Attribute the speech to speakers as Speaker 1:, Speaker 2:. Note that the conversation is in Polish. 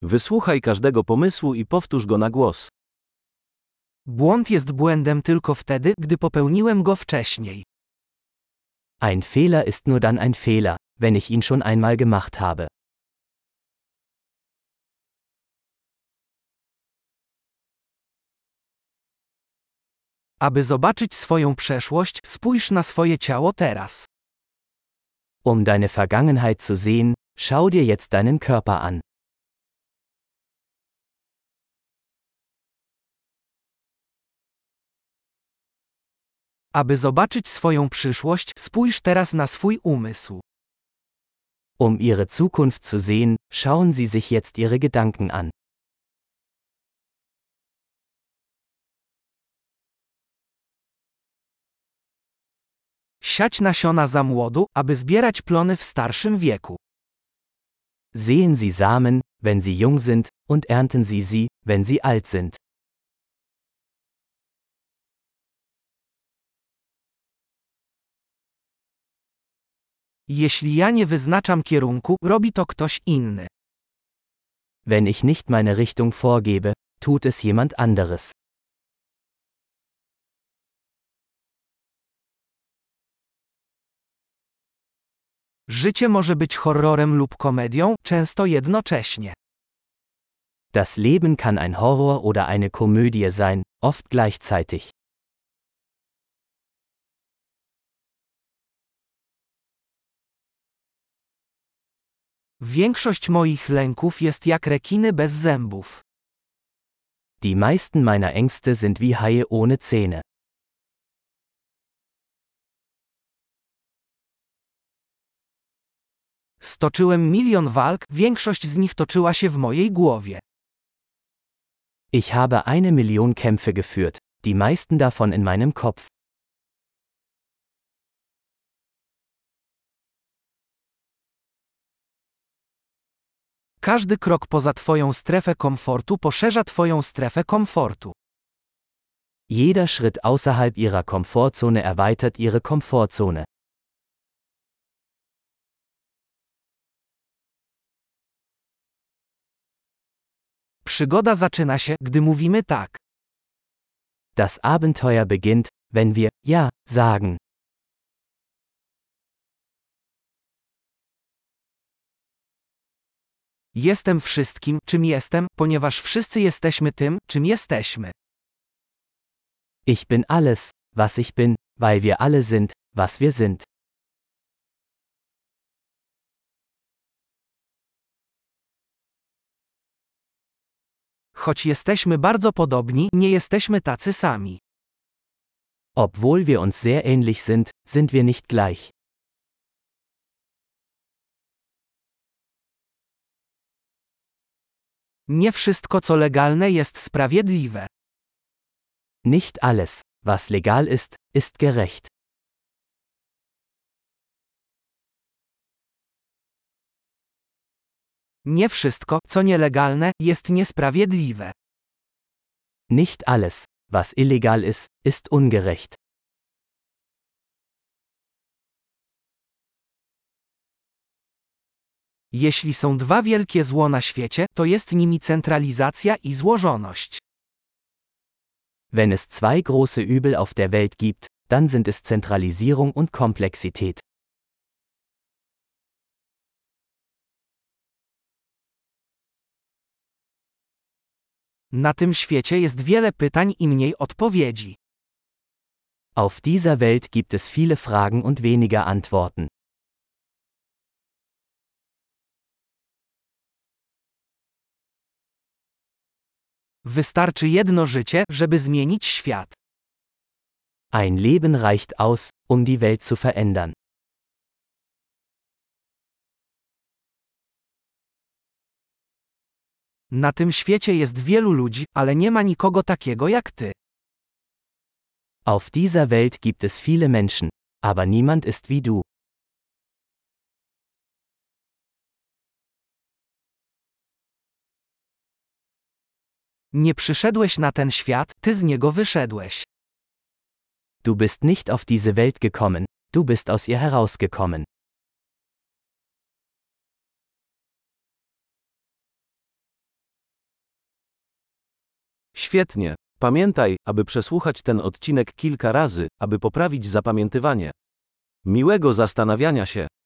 Speaker 1: Wysłuchaj każdego pomysłu i powtórz go na głos.
Speaker 2: Błąd jest błędem tylko wtedy, gdy popełniłem go wcześniej.
Speaker 3: Ein Fehler ist nur dann ein Fehler, wenn ich ihn schon einmal gemacht habe.
Speaker 2: Aby zobaczyć swoją przeszłość, spójrz na swoje ciało teraz.
Speaker 3: Um deine Vergangenheit zu sehen, schau dir jetzt deinen Körper an.
Speaker 2: Aby zobaczyć swoją przyszłość, spójrz teraz na swój umysł.
Speaker 3: Um ihre Zukunft zu sehen, schauen Sie sich jetzt Ihre Gedanken an.
Speaker 2: Siać nasiona za młodu, aby zbierać plony w starszym wieku.
Speaker 3: Sehen Sie Samen, wenn sie jung sind, und ernten Sie sie, wenn sie alt sind.
Speaker 2: Jeśli ja nie wyznaczam kierunku, robi to ktoś inny.
Speaker 3: Wenn ich nicht meine Richtung vorgebe, tut es jemand anderes.
Speaker 2: Życie może być horrorem lub komedią, często jednocześnie.
Speaker 3: Das Leben kann ein Horror oder eine Komödie sein, oft gleichzeitig.
Speaker 2: Większość moich lęków jest jak rekiny bez zębów.
Speaker 3: Die meisten meiner Ängste sind wie Haie ohne Zähne.
Speaker 2: Stoczyłem milion walk, większość z nich toczyła się w mojej głowie.
Speaker 3: Ich habe 1 Million Kämpfe geführt, die meisten davon in meinem Kopf.
Speaker 2: Każdy krok poza twoją strefę komfortu poszerza twoją strefę komfortu.
Speaker 3: Jeder Schritt außerhalb Ihrer Komfortzone erweitert Ihre Komfortzone.
Speaker 2: Przygoda zaczyna się, gdy mówimy tak.
Speaker 3: Das Abenteuer beginnt, wenn wir Ja sagen.
Speaker 2: Jestem wszystkim, czym jestem, ponieważ wszyscy jesteśmy tym, czym jesteśmy.
Speaker 3: Ich bin alles, was ich bin, weil wir alle sind, was wir sind.
Speaker 2: Choć jesteśmy bardzo podobni, nie jesteśmy tacy sami.
Speaker 3: Obwohl wir uns sehr ähnlich sind, sind wir nicht gleich.
Speaker 2: Nie wszystko, co legalne, jest sprawiedliwe.
Speaker 3: Nicht alles, was legal ist, ist gerecht.
Speaker 2: Nie wszystko, co nielegalne, jest niesprawiedliwe.
Speaker 3: Nicht alles, was illegal ist, ist ungerecht.
Speaker 2: Jeśli są dwa wielkie zło na świecie, to jest nimi centralizacja i złożoność.
Speaker 3: Wenn es zwei große Übel auf der Welt gibt, dann sind es Zentralisierung und Komplexität.
Speaker 2: Na tym świecie jest wiele pytań i mniej odpowiedzi.
Speaker 3: Auf dieser Welt gibt es viele Fragen und weniger Antworten.
Speaker 2: Wystarczy jedno życie, żeby zmienić świat.
Speaker 3: Ein Leben reicht aus, um die Welt zu verändern.
Speaker 2: Na tym świecie jest wielu ludzi, ale nie ma nikogo takiego jak ty.
Speaker 3: Auf dieser Welt gibt es viele Menschen, aber niemand ist wie du.
Speaker 2: Nie przyszedłeś na ten świat, ty z niego wyszedłeś.
Speaker 3: Du bist nicht auf diese Welt gekommen, du bist aus ihr herausgekommen.
Speaker 1: Świetnie. Pamiętaj, aby przesłuchać ten odcinek kilka razy, aby poprawić zapamiętywanie. Miłego zastanawiania się.